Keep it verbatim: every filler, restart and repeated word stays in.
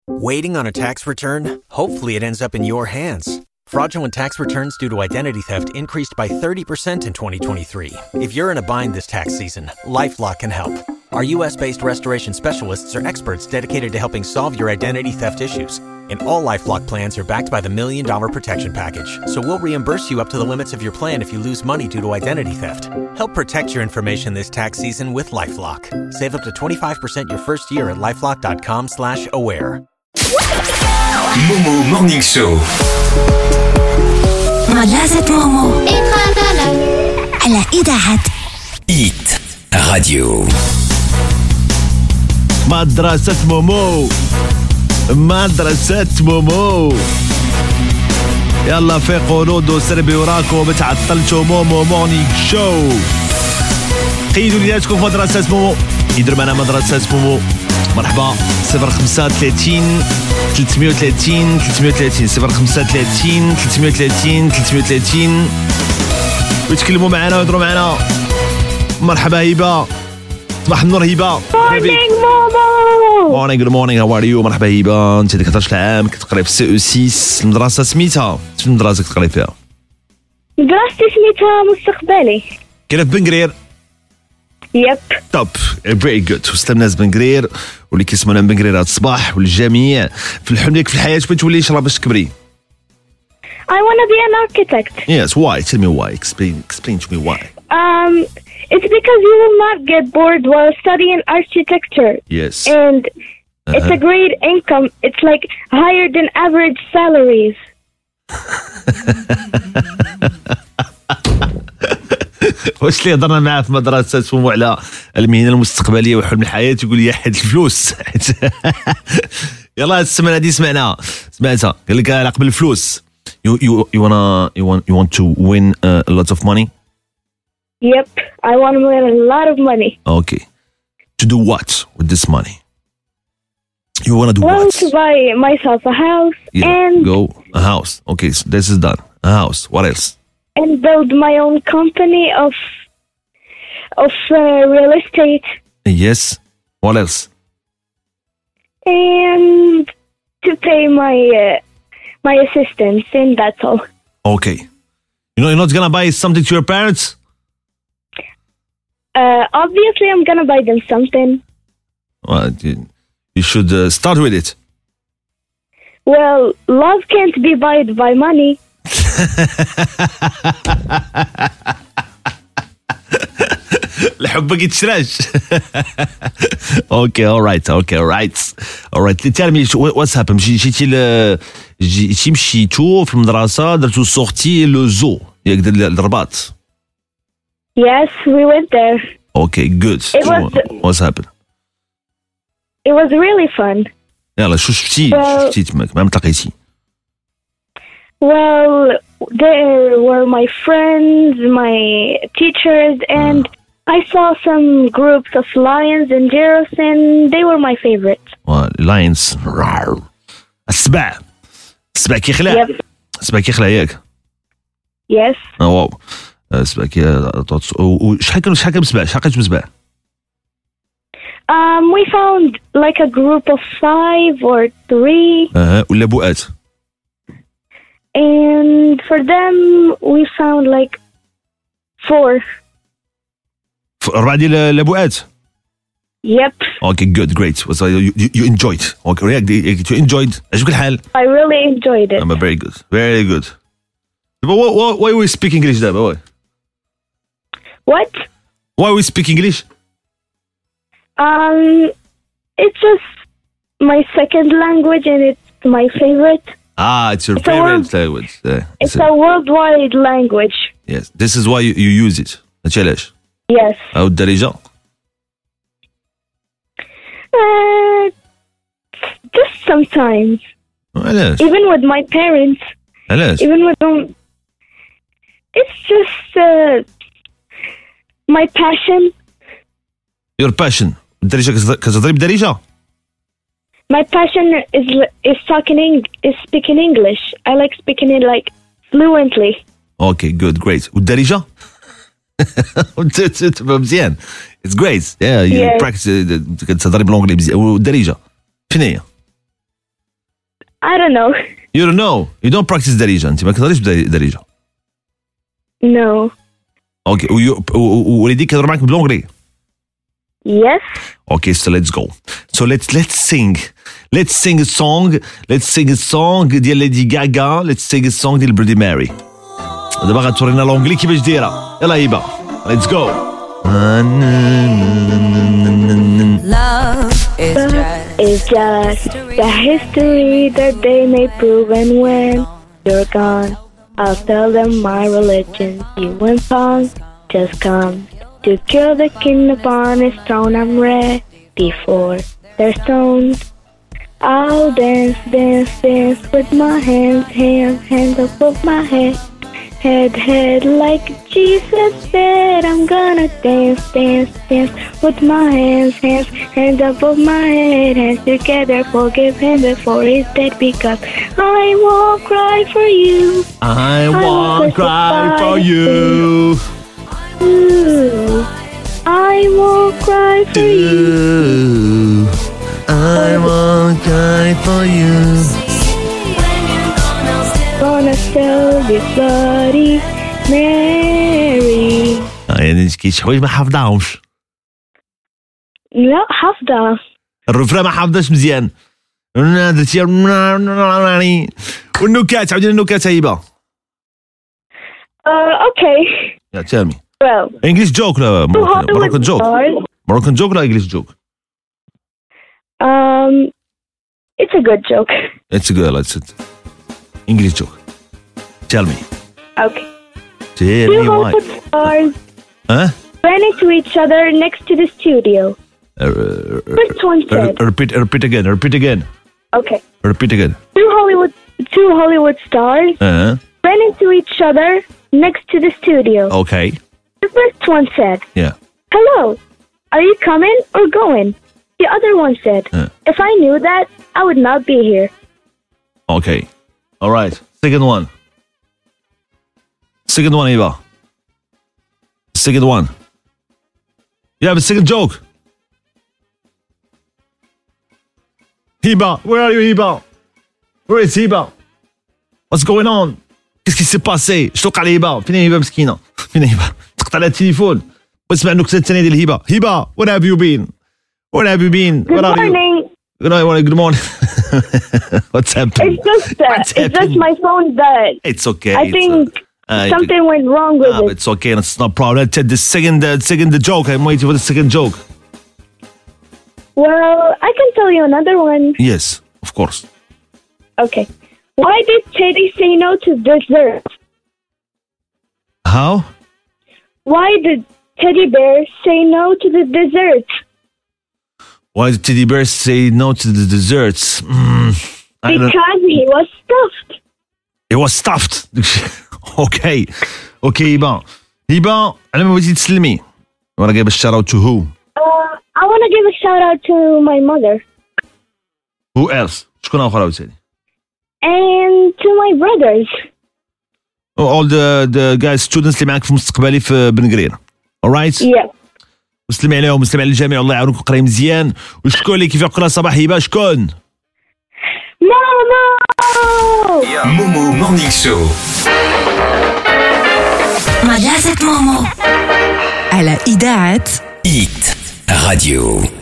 Waiting on a tax return? Hopefully it ends up in your hands. Fraudulent tax returns due to identity theft increased by thirty percent in twenty twenty-three. If you're in a bind this tax season, LifeLock can help. Our U S-based restoration specialists are experts dedicated to helping solve your identity theft issues. And all LifeLock plans are backed by the Million Dollar Protection Package. So we'll reimburse you up to the limits of your plan if you lose money due to identity theft. Help protect your information this tax season with LifeLock. Save up to twenty-five percent your first year at LifeLock.com slash aware. مومو مورنينغ شو مدرسة مومو على إذاعة إيت راديو. مدرسة مومو مدرسة مومو يلا فيقوا نودوا سربي وراكم بتعطلتوا. مومو مورنينغ شو قيدوا لياتكم في مدرسة مومو. يدير معنا مدرسة مومو. مرحبا صفر خمسة ثلاثين ثلاثمية وثلاثين ثلاثمية وثلاثين صفر خمسة ثلاثين ثلاثمية وثلاثين ثلاثمية وثلاثين ويتكلموا معنا ويهضروا معنا. مرحبا هبة. صباح النور هبة. مورنينغ مومو. مورنينغ جود مورنينغ هاو ار يو. مرحبا هبة. انت عندك حداش عام كتقري في سي او ستة. المدرسة سميتها شنو المدرسة كتقري فيها؟ دراستي سميتها مستقبلي. كاينه في بنقرير. يب توب فيري جود. وسلام ناس بنقرير واللي كيسمعونا من بنقرير هذا الصباح والجميع في الحلم ديالك في الحياة بغيتي تولي شرا باش تكبري؟ I want to be an architect. Yes, why? Tell me why. Explain explain to me why. Um, it's because you will not get bored while studying architecture. Yes. And Uh-huh. it's a great income. It's like higher than average salaries. واش اللي هضرنا معاه في مدرسة مومو على المهنة المستقبلية وحلم الحياة يقول لي حيد الفلوس. يلا هاد السمانة هادي سمعناها سمعتها قال لك على قبل الفلوس. You you you wanna you want you want to win uh, a lot of money? Yep, I want to win a lot of money. Okay. To do what with this money? You wanna do Well, what? to buy myself a house Yeah, and go a house. Okay, so this is done. A house. What else? and build my own company of of uh, real estate. Yes. What else? And to pay my uh, my assistants, and that's all. Okay. You know you're not gonna buy something to your parents? Uh, obviously, I'm gonna buy them something. Well, you, you should uh, start with it. Well, love can't be bought by money. الحب ما كيتشراش. اوكي alright okay alright alright tell me what's happened. جيتي ل جيتي مشيتو في المدرسة درتو سورتي لو زو ياك الرباط. Yes, we went there. Okay good. It was- what's happened? It was really fun. يلا شو شفتي Well- شفتي تماك ما متلاقيتي؟ Well, there were my friends, my teachers, and I saw some groups of lions and giraffes, and they were my favorites. لاينز السبع السبع كيخلع. Yep. السبع كيخلع ياك. Yes. اه واو السبع كي شحال كانوا شحال كانوا سبع شحال كانوا سبع؟ Um, we found like a group of five or three, اها ولا بوءات. and for them we found like four. أربعة ديال البوءات. Yep, اوكي جود جريت. you you enjoyed. اوكي ياك you enjoyed. عجبك الحال؟ I really enjoyed it. I'm very good very good. But why why why we speak English دابا؟ why What? why we speak English? Um, it's just my second language, and it's my favorite. Ah, it's your It's a favorite word- language. Yeah, It's a- a worldwide language. yes. This is why you, you use it. هادشي علاش؟ Yes. أو الدارجة؟ Uh, just sometimes, علاش؟ even with my parents, علاش؟ even with them. It's just uh, my passion. Your passion. الدارجة كتهضر- كتهضري بالدارجة؟ My passion is is talking Eng- is speaking English. I like speaking it like fluently. اوكي جود جريت. والدارجة؟ تفهم مزيان. It's great. Yeah, you Yes. practice كتهضري بالونجلي مزيان. والدارجة شنو هي؟ I don't know. You don't know. You don't practice دارجة. أنت ما كتهضريش بدارجة. No. Okay. ووليديك كيهضروا معاك بالونجلي. Yes. Okay, so let's go. So let's let's sing. Let's sing a song. Let's sing a song ديال Lady Gaga. Let's sing a song ديال Bloody Mary. دابا غتورينا لونجلي كيفاش دايره. يلا هبه. Let's go. Love is just, It's just the history that they may prove, and when you're gone, I'll tell them my religion. You and song just come to kill the king upon his throne. I'm ready for their stones. I'll dance, dance, dance with my hands, hands, hands above my head. Head, head, like Jesus said, I'm gonna dance, dance, dance with my hands, hands, hands above my head, hands together, forgive him before he's dead, because I won't cry for you. I won't cry for you. Ooh, I won't cry for you. I won't cry for you. Gonna sell this Bloody Mary. يعني كاين حوايج ما حافظاهمش. لا حافظة. الرفرة ما حافظاش مزيان. درتي والنكات عاودي النكات هيبه. Uh, okay. Yeah, tell me. Well, English joke لا Moroccan, Moroccan joke. stars. Moroccan joke لا English joke. Um, it's a good joke. It's a girl. It's a English joke. Tell me. Okay. Tell Two me why. Hollywood stars Huh? ran into each other next to the studio. Uh, uh, First one uh, said, repeat, repeat again. Repeat again. okay. Repeat again. Two Hollywood, two Hollywood stars Uh, ran into each other next to the studio. okay. The first one said, Yeah. hello, are you coming or going? The other one said, Uh. if I knew that, I would not be here. Okay. All right. Second one. Second one, Eva. Second one. Yeah, but second joke. Hiba, where are you, Hiba? Where is Hiba? What's going on? Qu'est-ce qui s'est passé? شتوق على هبة. فين هبة مسكينة؟ فين هبة؟ تقطع على التليفون. واسمع النكتة الثانية ديال هبة. هبة, where have you been? Where have you been? Good Where are you? morning. Good morning. Good morning. What's happening? It's just that. What's It's just happening? my phone that It's okay. I It's, think uh, uh, something went wrong with Ah, but it. it's okay. It's no problem. Let's take the second, uh, second the joke. I'm waiting for the second joke. Well, I can tell you another one. Yes, of course. Okay. Why did Teddy say no to dessert? How? Why did Teddy Bear say no to the dessert? Why did teddy bear say no to the desserts? Mm, I don't. Because he was stuffed. It was stuffed. Okay. Okay, Hiba. Hiba, أنا ما بغيتي تسلمي. You wanna give a shout out to who? Uh, I want to give a shout out to my mother Who else? شكون آخر عاوتاني؟ and to my brothers. Oh, all the the guys students اللي معاك في مستقبلي في بن قرير. Alright? Yeah. وسلمي عليهم وسلمي على الجميع الله يعاونك وقراي مزيان وشكون اللي كيف يقرا صباح هبه شكون؟ Momo! Momo Morning Show. مجازة مومو على إذاعة Hit Radio.